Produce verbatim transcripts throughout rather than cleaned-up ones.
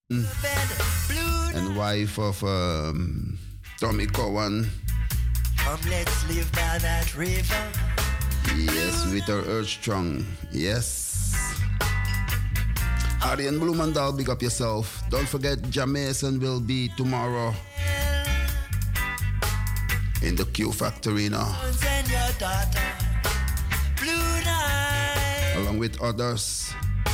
and wife of um, Tommy Cowan. Come, let's live by that river. Yes, with her earth strong. Yes. Arjen Bloemendal, big up yourself. Don't forget, Jamaison will be tomorrow in the Q Factory now. Along with others.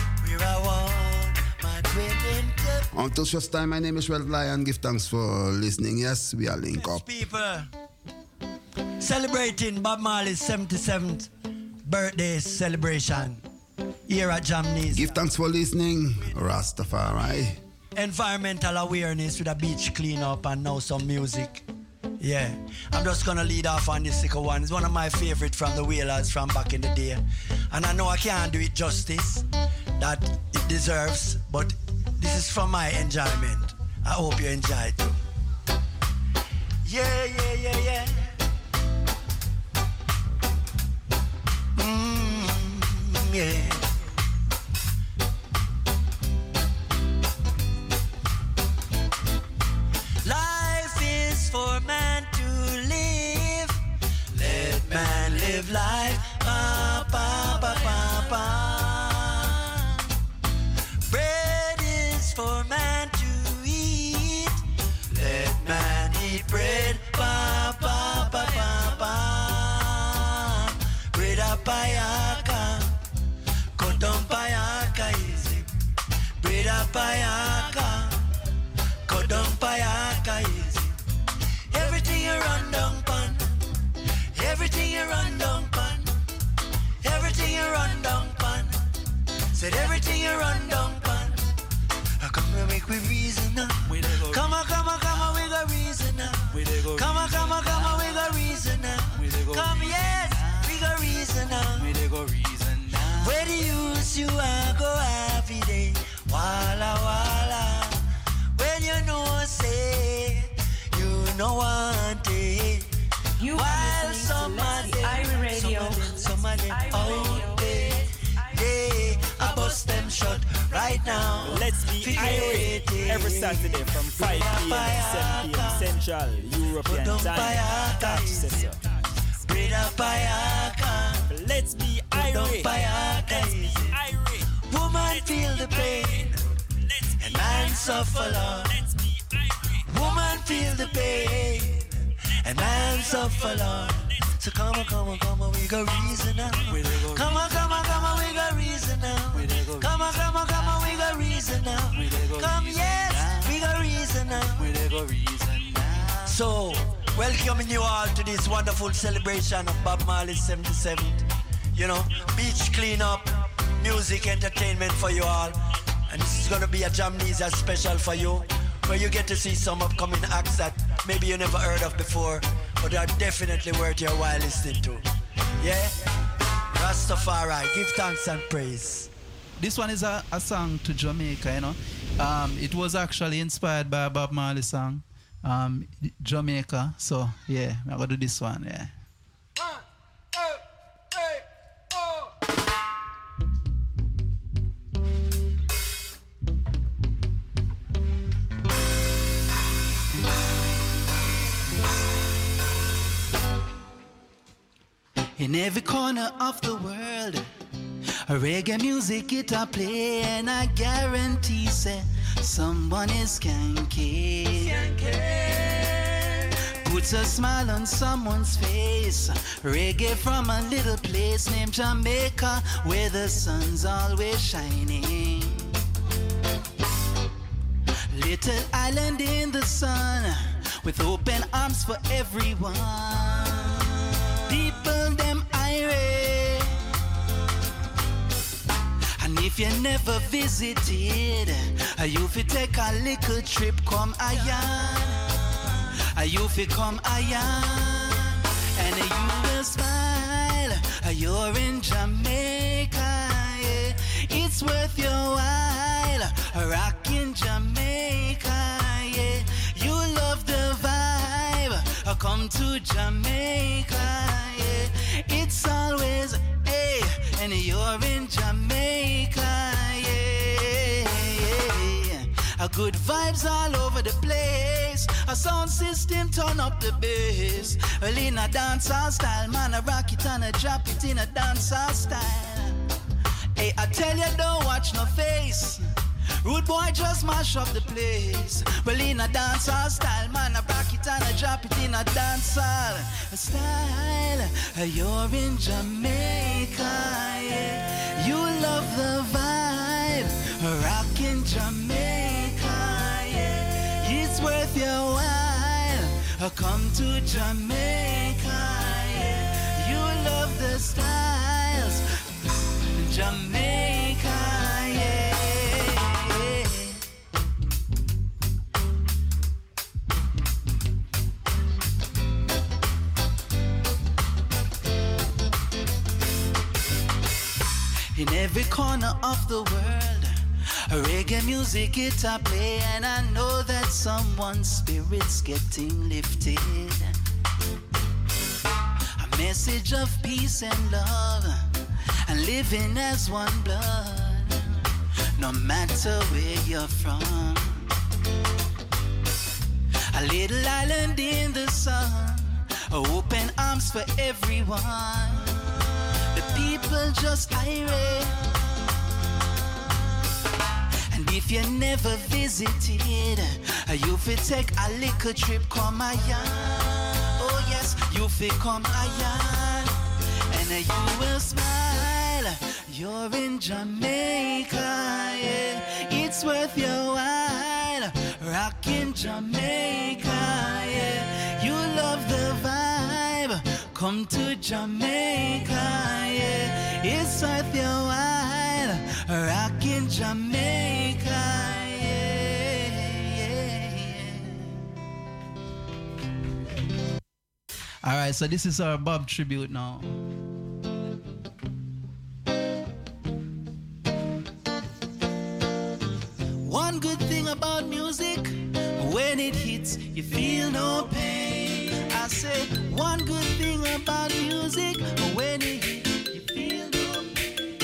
Until just time, my name is Red Lion. Give thanks for listening. Yes, we are link up. People celebrating Bob Marley's seventy-seventh birthday celebration here at Jamnesia. Give thanks for listening, Rastafari. Environmental awareness with a beach cleanup and now some music. Yeah, I'm just gonna lead off on this second one. It's one of my favorite from the Wailers from back in the day. And I know I can't do it justice that it deserves, but this is for my enjoyment. I hope you enjoy it too. Yeah, yeah, yeah, yeah. Mm, yeah. Life is for man to live. Let man live life. Pa, pa, pa, pa, pa. Bread is for man to eat. Let man eat bread. Pa, pa, pa, pa, pa. Bread a payaka. Kodon payaka easy. Bread a payaka. Kodon payaka easy. Everything you run down pan. Everything you run down pan. Everything you run down pan. Said everything you run down pan. Come and make we reason now. Come on, come on, come on, we got reason now. Come on, come on, come on, we got reason now. Come, yes, we got reason now. Where the use you are go every day. Walla walla. When you know say you know one day. You while somebody, Radio. somebody out there, they I bust them shut right now. Let's be irate every Saturday from five p.m. to seven p.m. Central European Time. Catch session. Let's be irate. Let's be irate. Woman feel the pain, and man suffer long. Woman feel the pain, and man suffer long. So come on, come on, come on, we got reason now. Come on, come on, come on, we got reason now. Come on, come on, come on, we got reason now. Come, yes, we got reason now. So, welcoming you all to this wonderful celebration of Bob Marley's seventy-seventh. You know, beach cleanup, music, entertainment for you all. And this is gonna be a Jamnesia special for you, where you get to see some upcoming acts that maybe you never heard of before, but they are definitely worth your while listening to. Yeah? Rastafari, give thanks and praise. This one is a, a song to Jamaica, you know. Um, it was actually inspired by a Bob Marley song, um, Jamaica. So, yeah, I'm going to do this one, yeah. In every corner of the world, a reggae music it a play, and I guarantee say someone is skanky. Puts a smile on someone's face. Reggae from a little place named Jamaica, where the sun's always shining. Little island in the sun, with open arms for everyone. People them irate, and if you never visited, you fi take a little trip, come ayan. You fi come ayan, and you will smile. You're in Jamaica, yeah. It's worth your while, rockin' Jamaica, yeah. You love the vibe, come to Jamaica, yeah. It's always, hey, and you're in Jamaica, yeah, yeah. A good vibes all over the place. A sound system turn up the bass. Well, in a dancehall style, man, I rock it and I drop it in a dancehall style. Hey, I tell you, don't watch no face. Rude boy just mash up the place. Well, in a dancehall style, man, I rock it and I drop it in a dancehall style. You're in Jamaica, yeah. You love the vibe, rockin' Jamaica, yeah. It's worth your while. Come to Jamaica, yeah. You love the styles, Jamaica, yeah. In every corner of the world, reggae music it a play, and I know that someone's spirit's getting lifted. A message of peace and love, and living as one blood, no matter where you're from. A little island in the sun, open arms for everyone. The people just irate. And if you never visited, you fit take a little trip, come ayan. Oh yes, you fit come ayan, and you will smile. You're in Jamaica, yeah. It's worth your while. Rockin' Jamaica, yeah. You love the vibe. Come to Jamaica, yeah. It's worth your while. Rockin' Jamaica, yeah, yeah, yeah. All right, so this is our Bob tribute now. One good thing about music, when it hits, you feel no pain. I say, one good thing about music, when it hits, you feel no pain.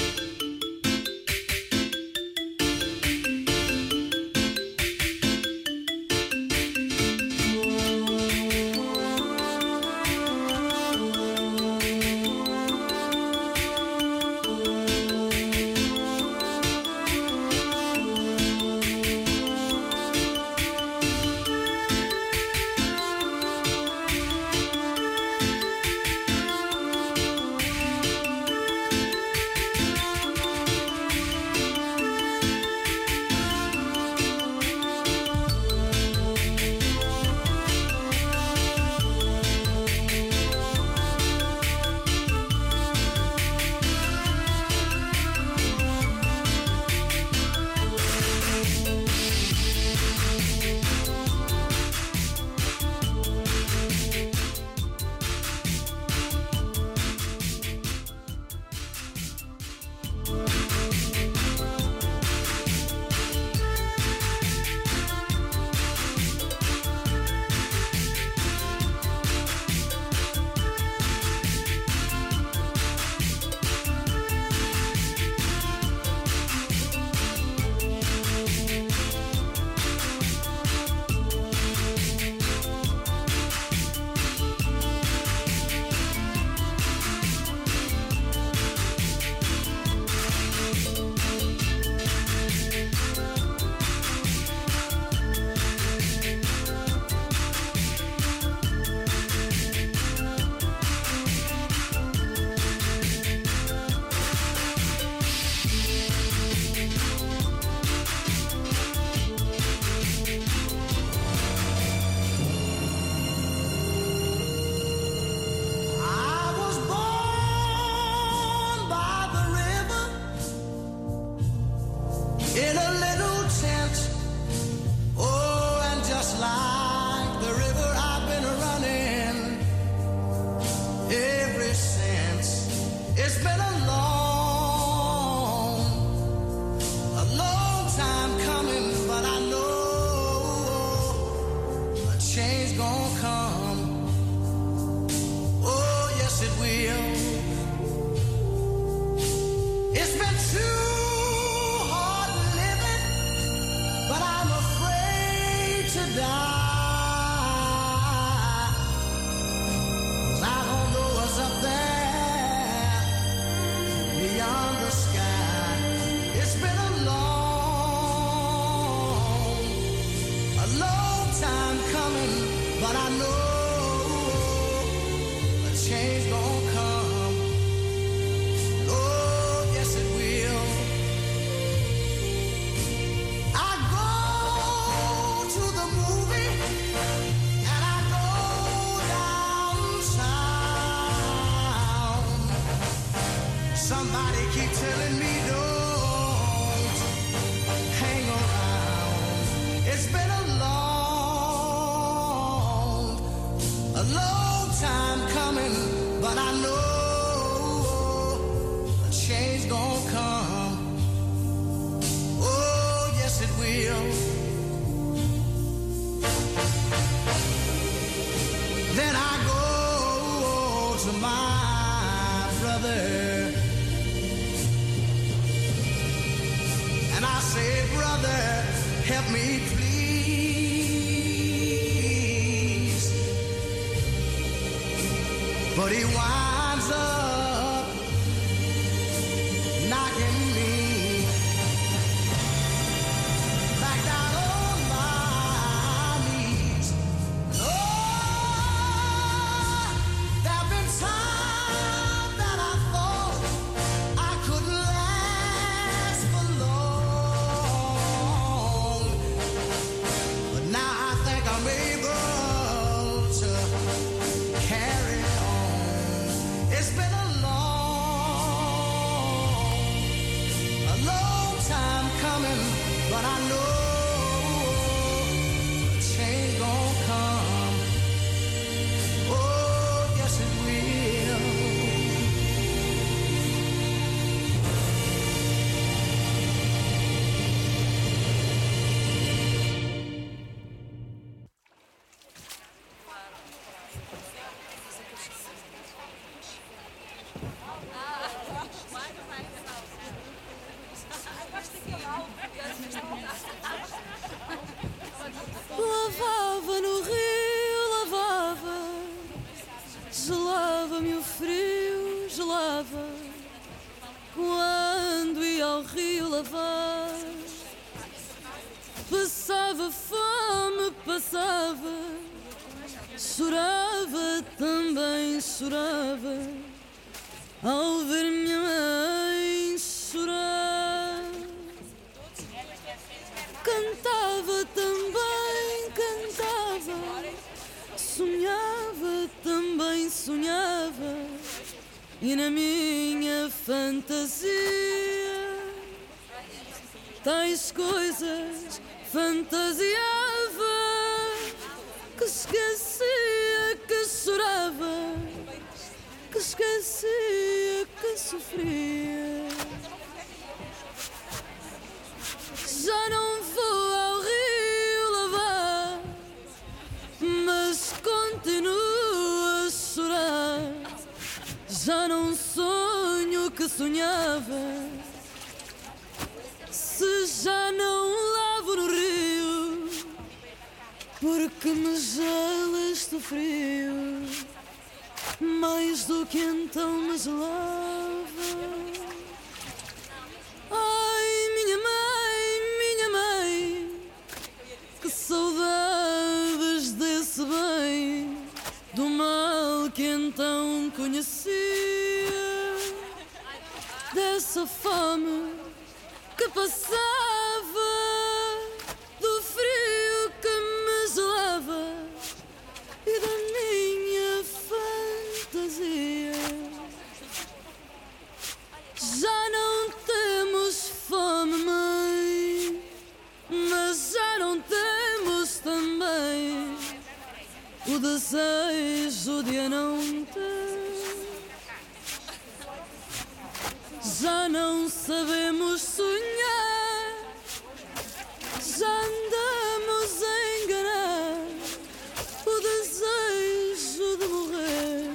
It's been too hard living, but I'm afraid time coming, but I know a change gonna come. Oh, yes it will. I go to the movie and I go downtown. Somebody keep telling me don't hang around. It's been a long, a long time coming, but I know a change gonna come. Oh, yes it will. Then I go to my brother and I say, brother, help me please. But he winds up knocking me back down on my knees. Oh, there've been times that I thought I could last for long, but now I think I'm able to carry on. It's been a long, a long time coming, but I know a change gonna come. Oh, yes it will. Lavava no rio, lavava, gelava-me o frio, gelava, quando ia ao rio lavar. Passava fome, passava, chorava, também chorava, ao ver minha mãe chorar. Cantava também, cantava, sonhava também, sonhava, e na minha fantasia tais coisas fantasiava, que esquecia que chorava, que esquecia que sofria. Já não vou ao rio lavar, mas continuo a chorar. Já não sonho que sonhava, se já não lavo no rio, porque me gela este frio, mais do que então me gelava. Ai, minha mãe, minha mãe, que saudades desse bem, do mal que então conhecia, dessa fome que passava, do frio que me gelava e da minha fantasia. Já não temos fome, mãe, mas já não temos também o desejo de a não ter. Já não sabemos sonhar, já andamos a enganar o desejo de morrer.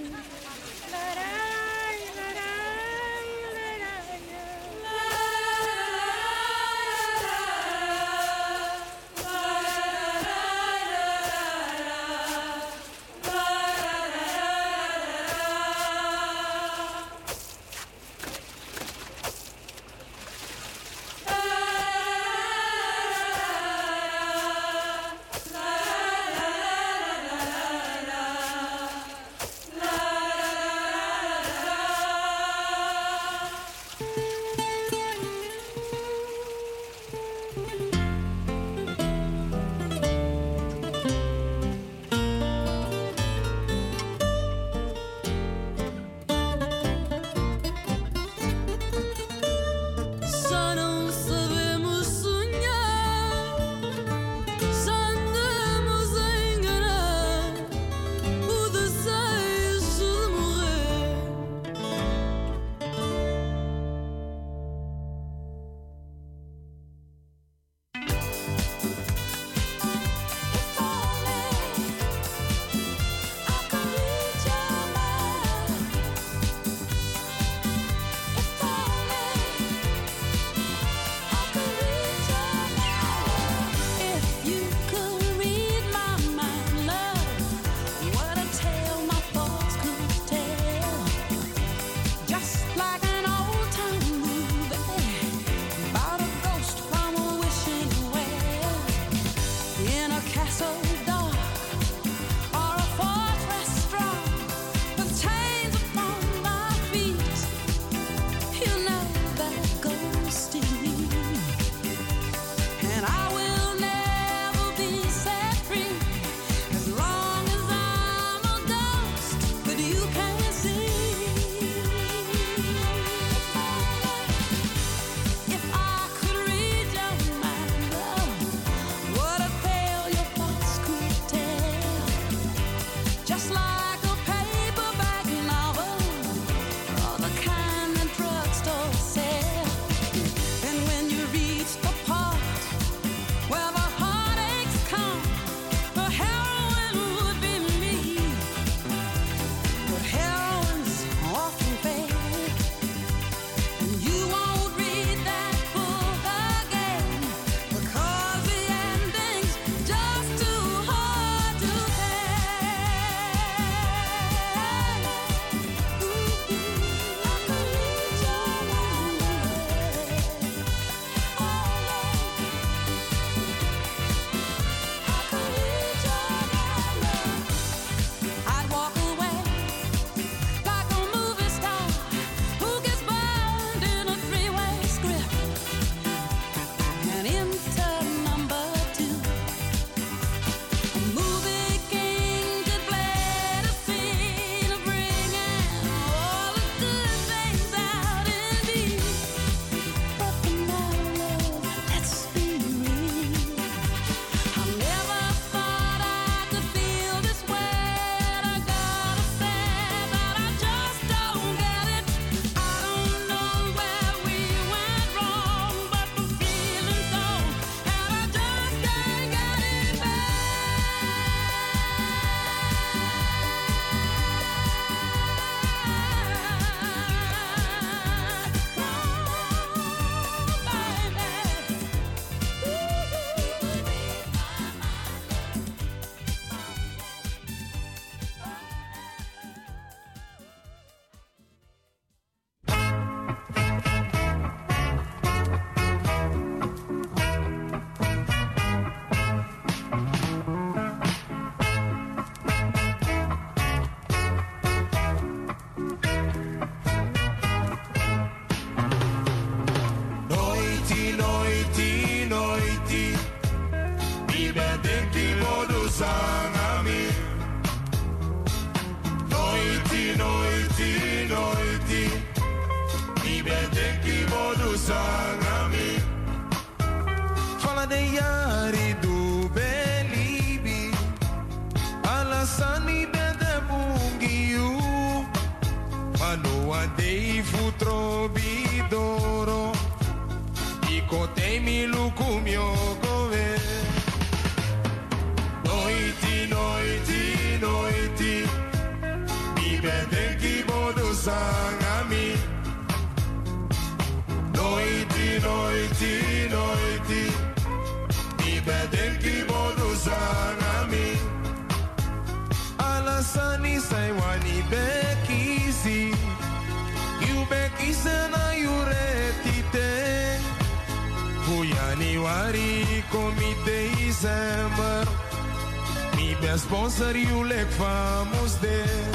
Sponsor you like famous there.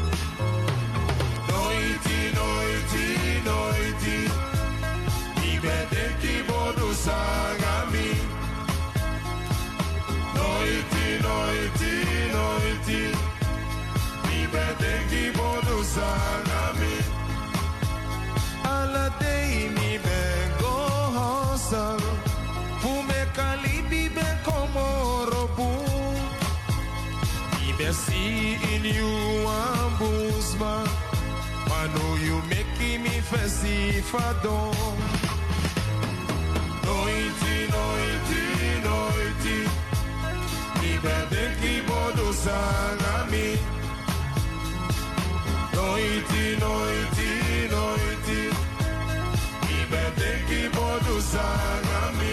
Noiti, noiti, noiti. Ibe denki bodu sangami. Noiti, noiti, noiti. Ibe denki bodu sangami. Alla day mi bengo hosal. Fume kalibi ben komorobu. See in you ambusma, I know you making me fancy fado. Noiti, noiti, noiti, ibe denki bodu sangami. Noiti, noiti, noiti, ibe denki bodu sangami.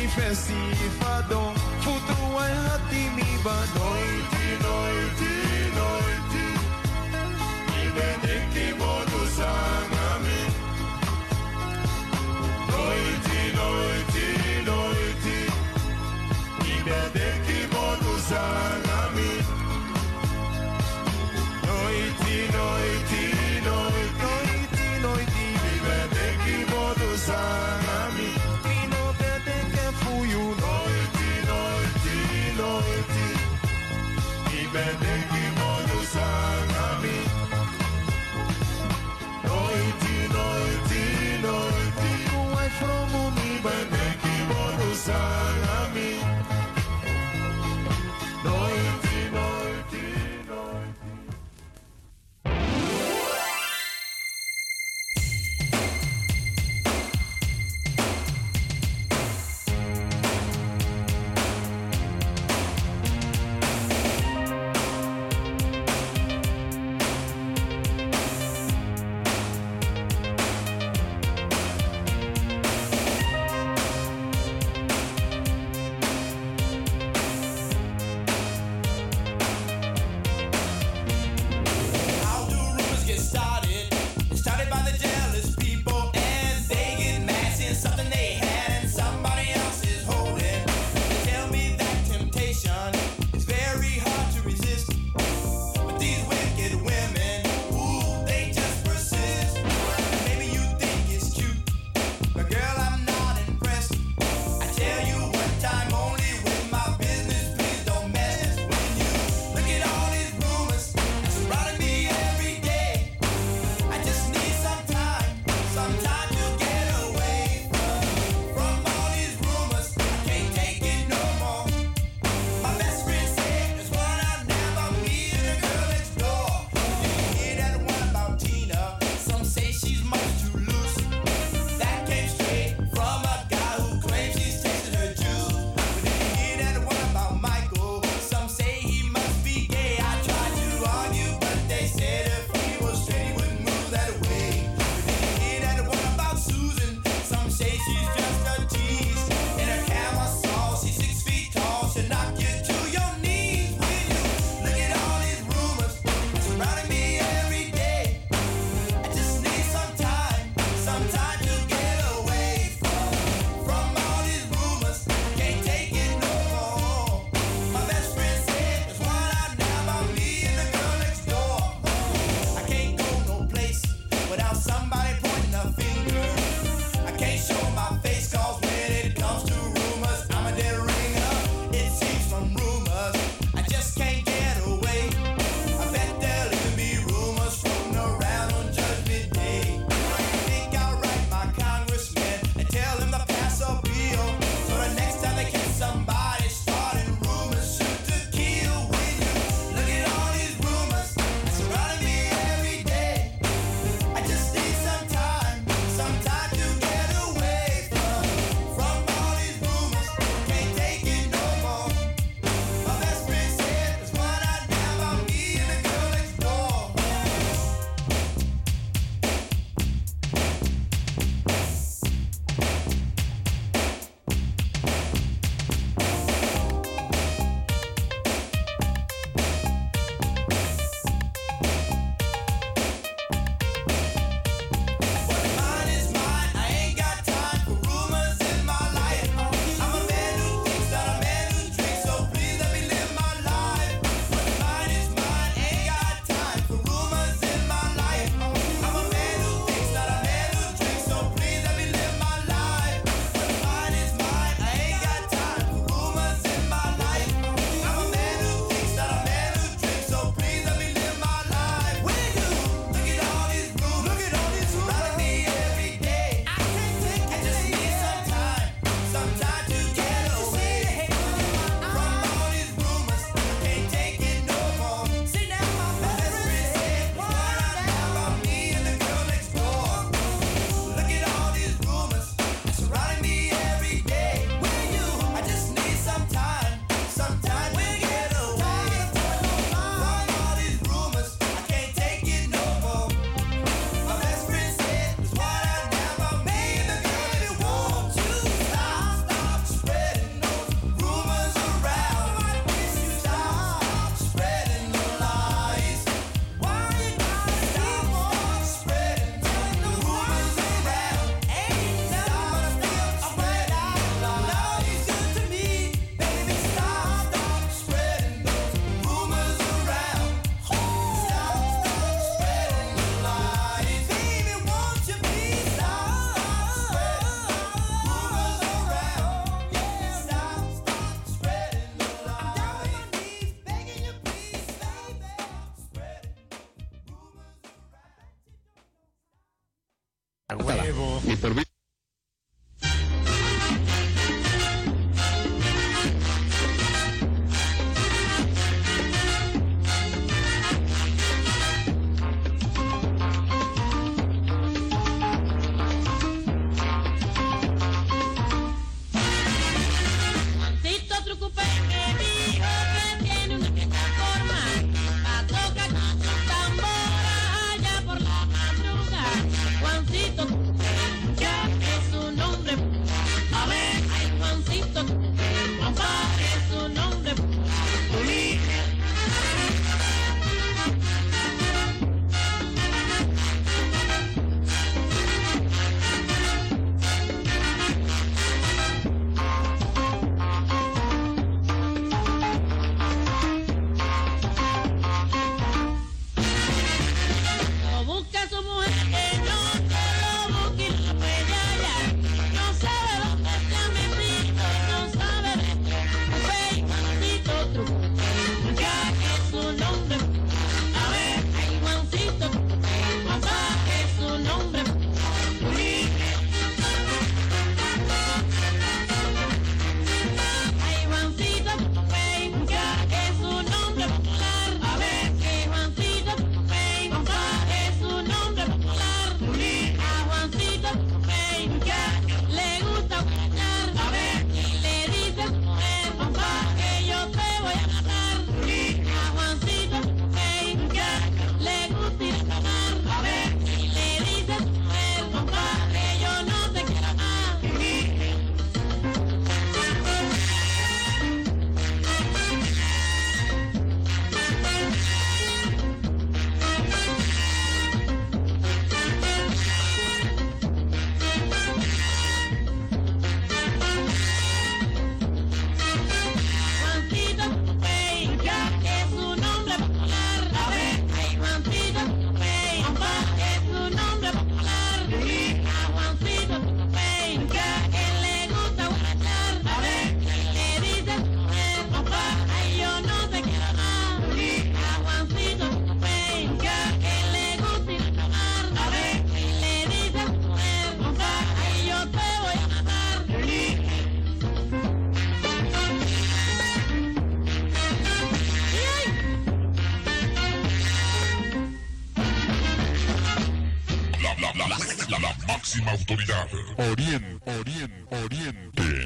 fesi fadon. Futu wai hati mi ba noiti, noiti, noiti. Ibe neki bodu sangami. Noiti, noiti, noiti. Ibe neki bodu sangami. Noiti, noiti, noiti, noiti. Ibe neki bodu sangami. Pino bede ke fuyu noiti, noiti, noiti. Mi permiso. Máxima autoridad. Oriente, Oriente, Oriente.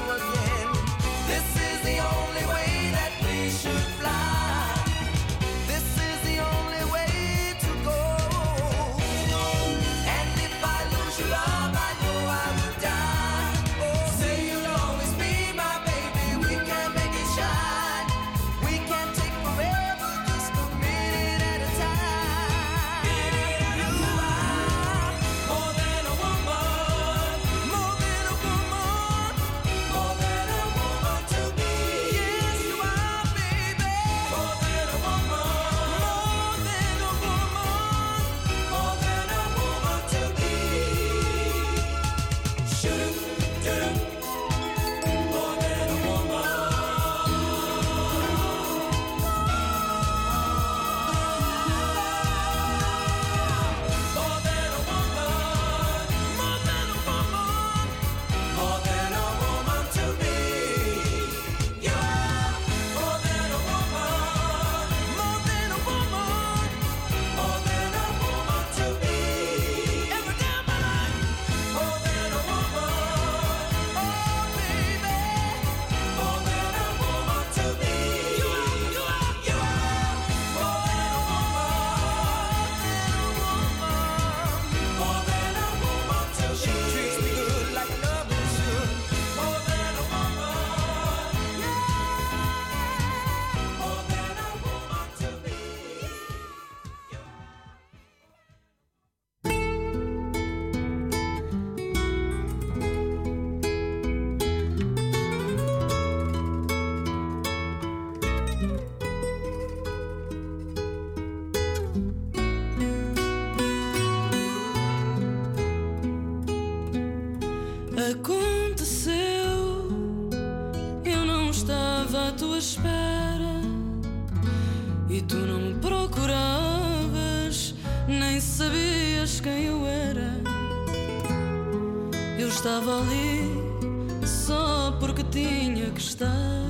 This is the only way that we should fly. espera e tu não me procuravas, nem sabias quem eu era. Eu estava ali só porque tinha que estar,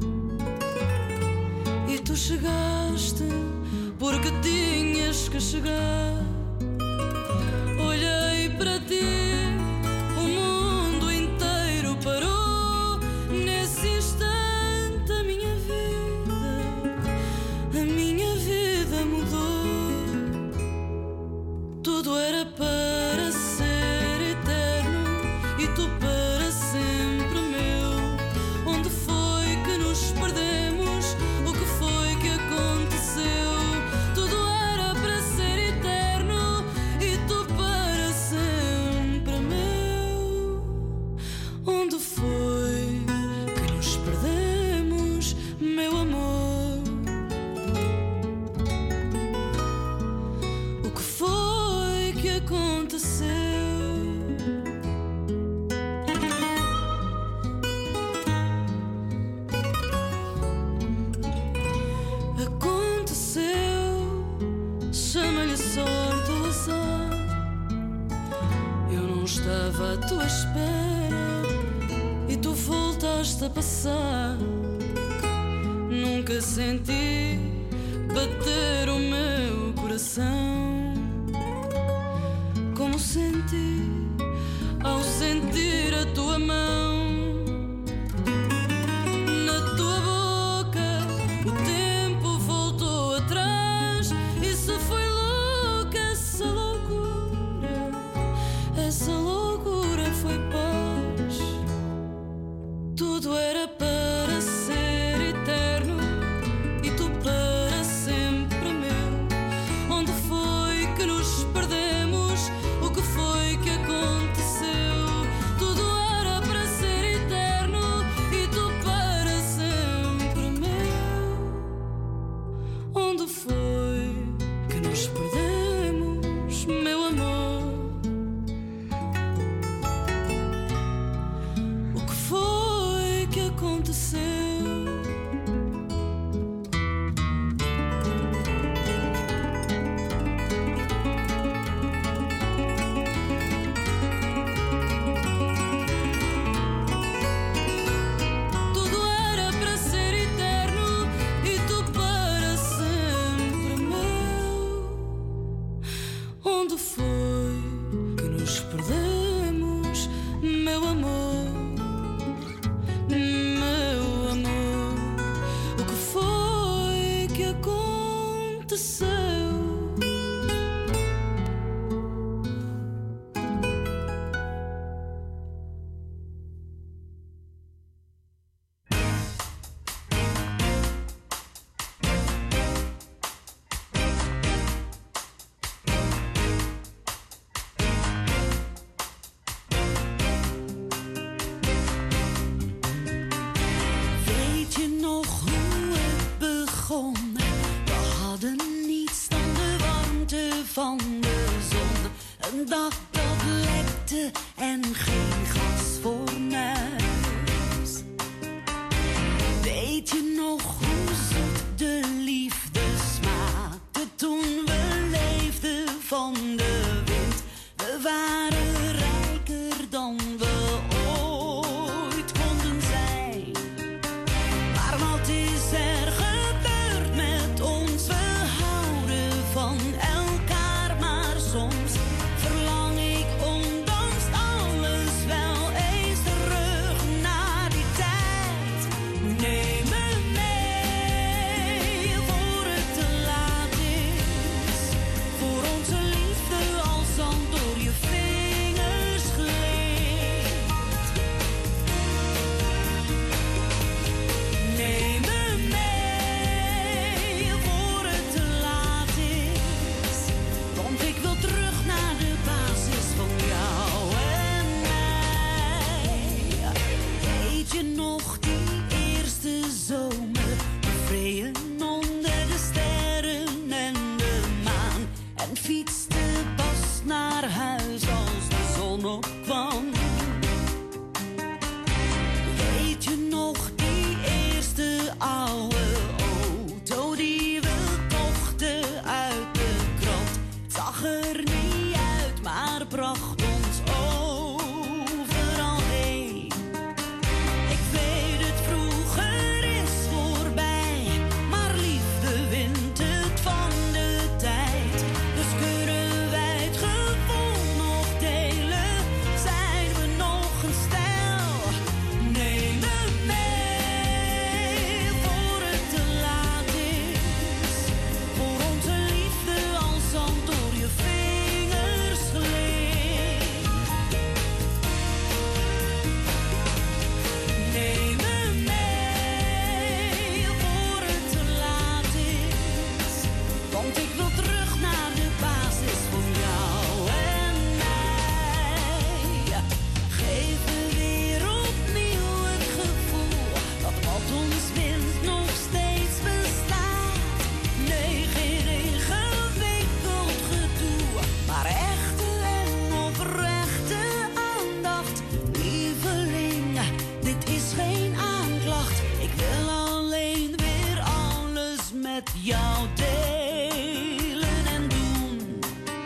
e tu chegaste porque tinhas que chegar. Olhei para ti, o mundo inteiro parou. Nesse instante a minha vida, a minha vida mudou. Tudo era para ser eterno e tu para sempre meu. Onde foi que nos perdemos? O que foi que aconteceu? Tudo era para ser eterno e tu para sempre meu. Onde foi que nos perdemos, meu amor? O que foi que aconteceu? Aconteceu, chama-lhe sorte ou azar. Eu não estava à tua espera e tu voltaste a passar. Nunca senti bater o meu coração como senti ao sentir a tua mão na tua boca. O tempo voltou atrás. Isso foi louco, essa loucura, essa loucura foi paz. Tudo era para ser eterno e tu para sempre meu. Onde foi que nos perdemos? O que foi que aconteceu? Tudo era para ser eterno e tu para sempre meu. Onde foi que nos perdemos, meu amor? O que foi que aconteceu? Tudo era para ser eterno e tu para sempre meu. Onde foi que nos perdemos, meu amor? Meu amor, o que foi que aconteceu? Weet je nog hoe het begon? We hadden niets dan de warmte van de zon. Een dag dat lekte en geen gasfornuis. Weet je nog hoe zoet de liefde smaakte toen we leefden van de wind? We waren rijker dan we ooit konden zijn. Maar wat is er gebeurd met ons? We houden van elkaar, maar soms verlang ik ondanks met jou delen en doen.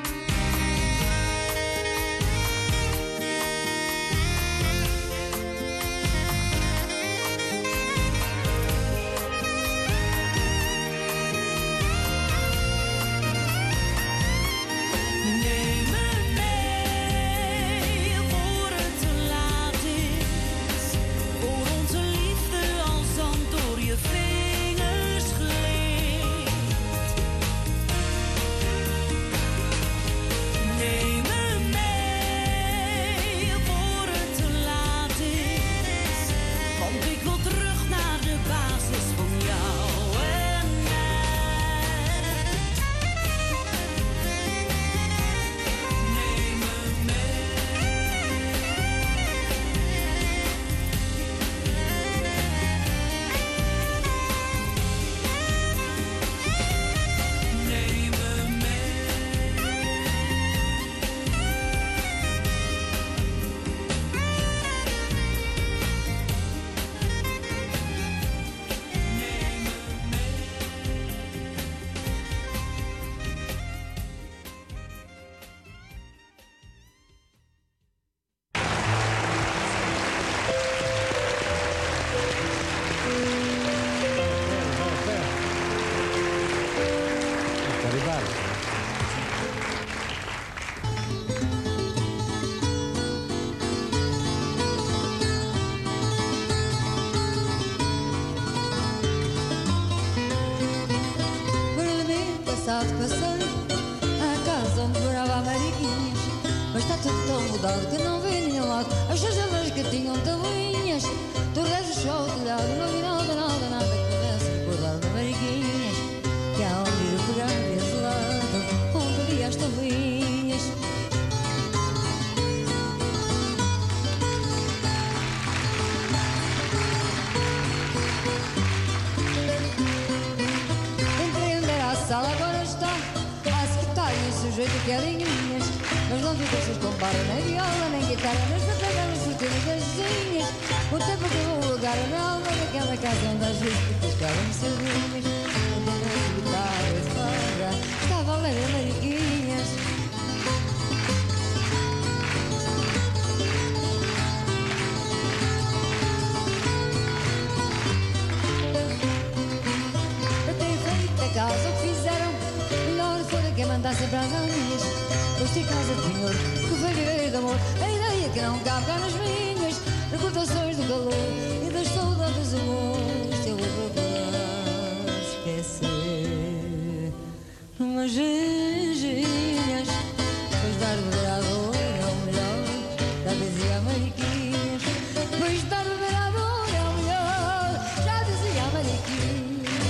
Neem me mee voor het te laat is, voor onze liefde als zand door je vingers gleed. Neem me mee voor het te laat is, want ik wil terug naar de basis van jou en mij. Neem me mee. Neem me mee. Por domingo passado passei à casa onde morava a Mariquinhas, mas está tudo tão mudado que não vi nenhum lado. As janelas que tinham tabuinhas, tu redes só o telhado, não vi nada, nada, nada que pudesse recordar de Mariquinhas, que há onde ir pegar desse lado, onde vi as tabuinhas. Entrei onde era a sala, agora está a secretária e o sujeito que era em minhas. Mas não te deixas com barra, nem viola, nem guitarra, nem para pegar as cortinas das vizinhas. O tempo que eu vou lugar na alma daquela casa onde às vezes te tocavam sardinhas. Onde as guitarras fora, estava a ler a Mariquinhas. Eu tenho feito a casa o que fizeram, melhor fora quem mandasse para as amigas. Pois tinha casa de penhor, que foi viver de amor, a ideia que não cabe cá nas minhas. Recordações do calor e das saudades do amor, eu vou procurar esquecer. Umas ginginhas, pois dar de beber à dor é o melhor, já dizia a Mariquinhas. Pois dar de beber à dor é o melhor, já dizia a Mariquinhas.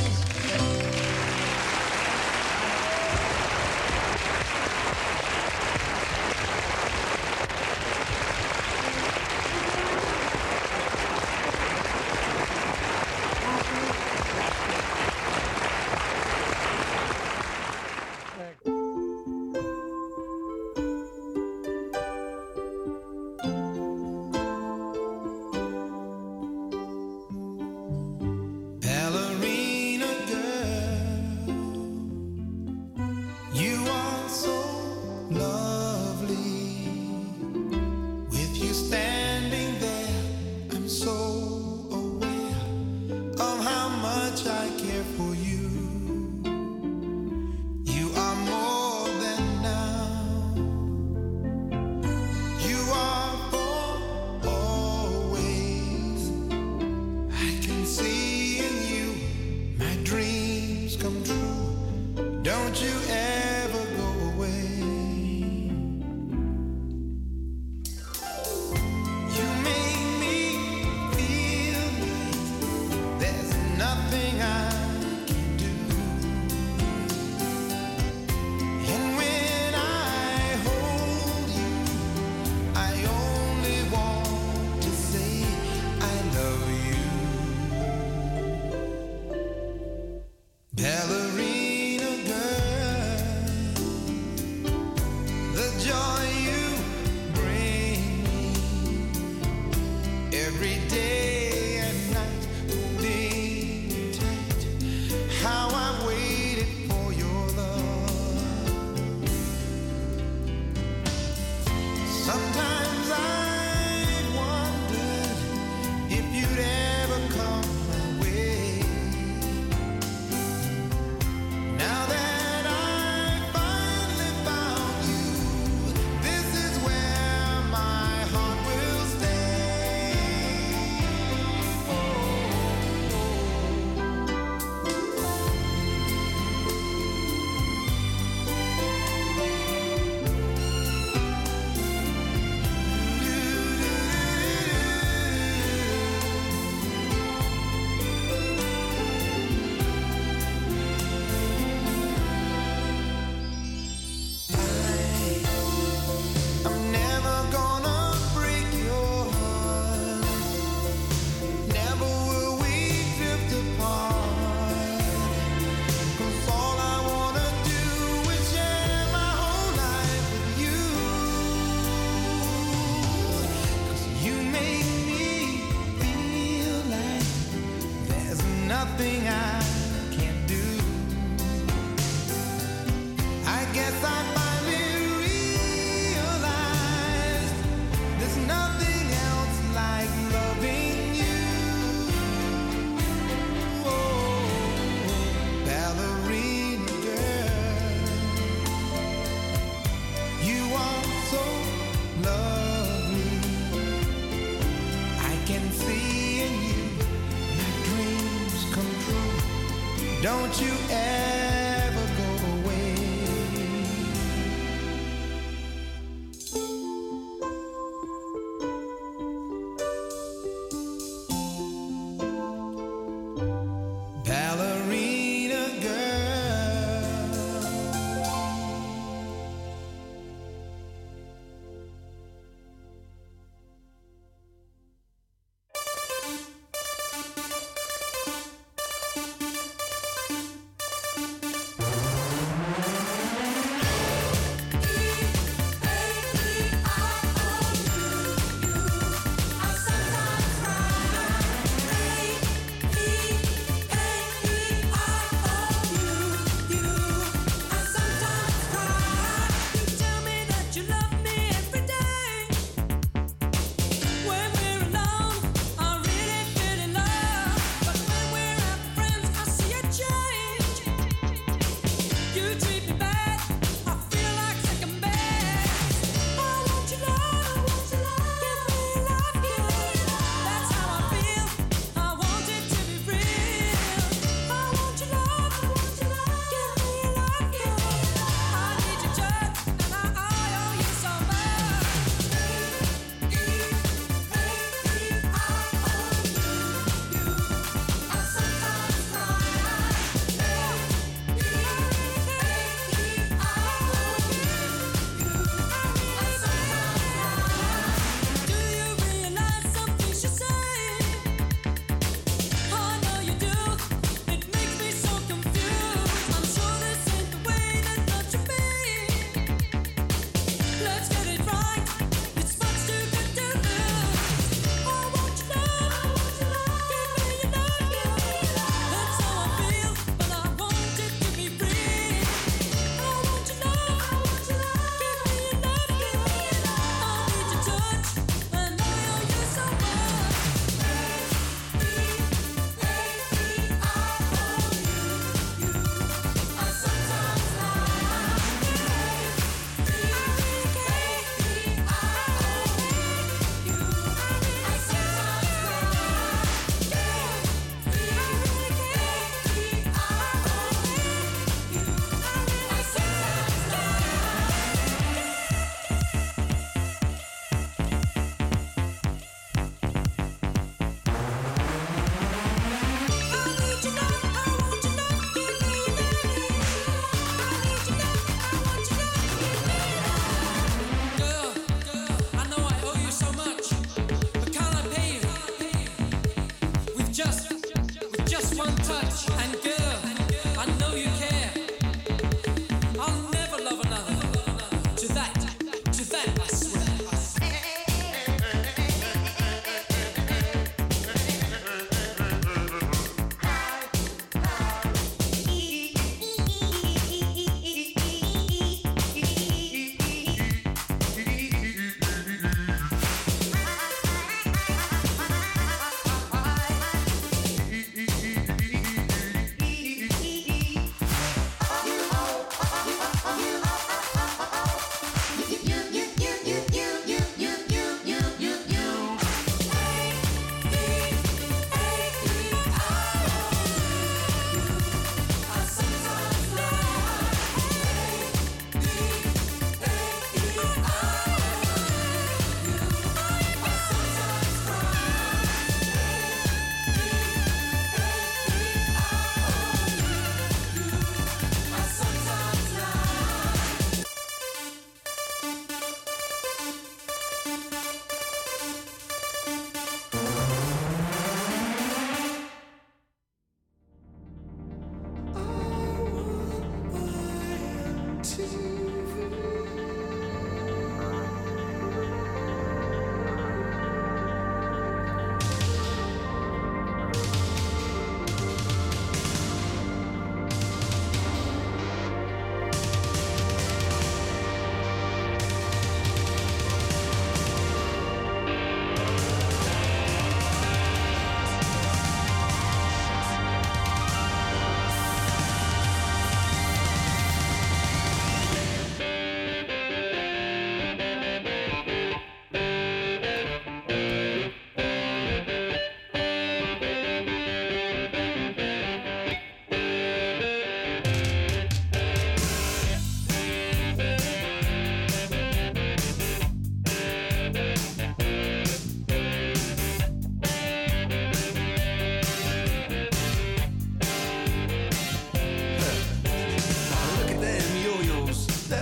Ballerina girl, you are so lovely. With you standing there, I'm so aware of how much I care for you. You are more than now. You are for always. I can see in you my dreams come true. Don't you ever go away. You make me feel like there's nothing I can do. And when I hold you, I only want to say I love you. Ballerina girl, the joy you bring me every day and night, holding you tight. How I wait. Don't you ever go away. Ballerina girl,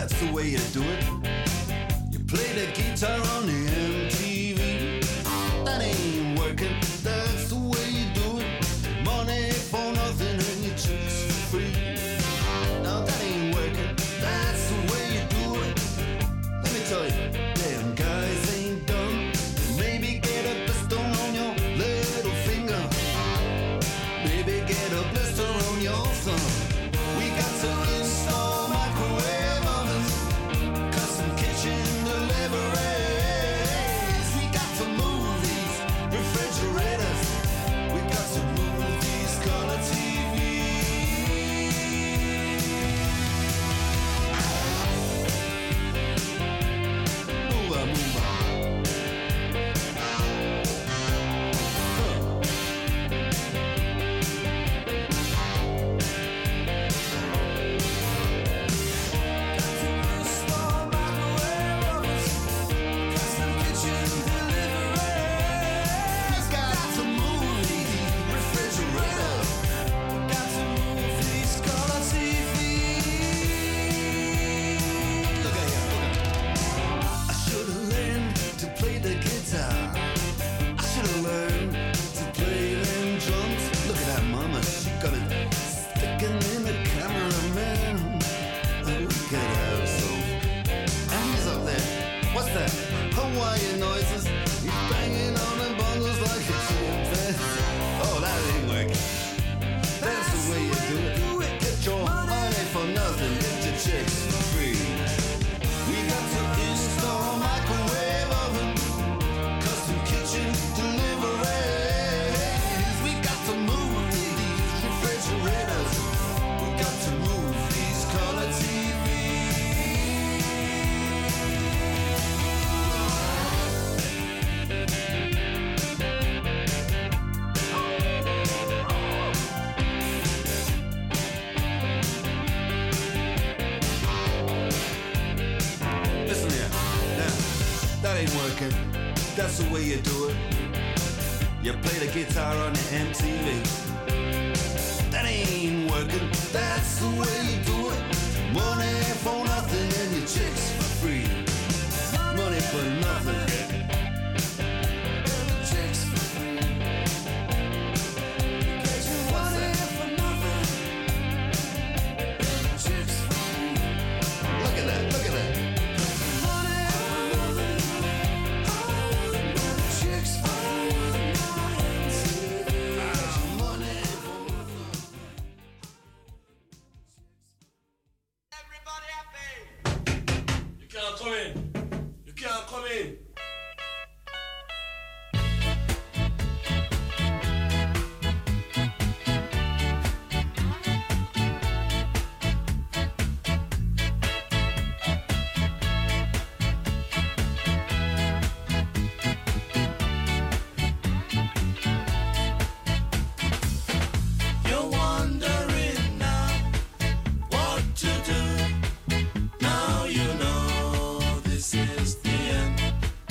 that's the way you do it. You play the guitar on the M T V. That ain't working, that's the way you do it. Money for nothing and your chicks for free. Now that ain't working, that's the way you do it. Let me tell you, damn guys ain't dumb. Maybe get a blister on your little finger. Maybe get a blister on your thumb. We got to install microwave ovens, custom kitchen deliveries. We got to move these refrigerators. We got to move these color T Vs. Move on, move on. Hawaiian noises, he's banging on the bongos like a chimpanzee. Oh, that ain't working. That's the way you do it. Get your money for nothing, get your chicks for free. We got to install microwave oven, custom kitchen deliveries. We got to move these refrigerators. We got to move these color T Vs. Listen here, now, that ain't working. That's the way you do it. You play the guitar on the M T V. That ain't working. That's the way you do it. Money for nothing and your chicks for free. Money for nothing. Chicks for free. Get your money for nothing. Chicks for free. Look at that, look at that. Money for nothing. Chicks for free. Money for nothing. Everybody happy. You can't come in. You can't come in. You're wondering now what to do. Now you know this is the end.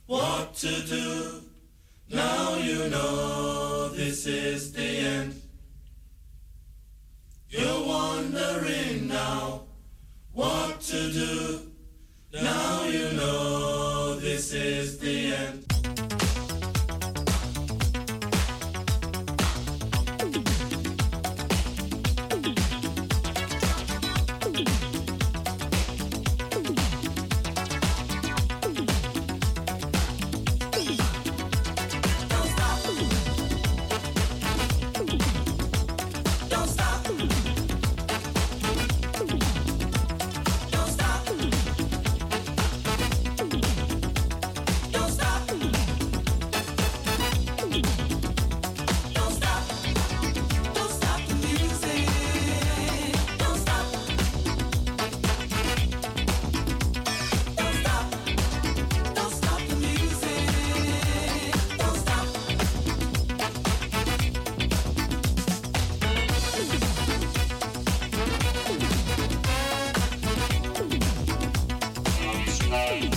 what to do. Now you know this is the end. You're wondering now what to do. Now you know this is the end. Hey.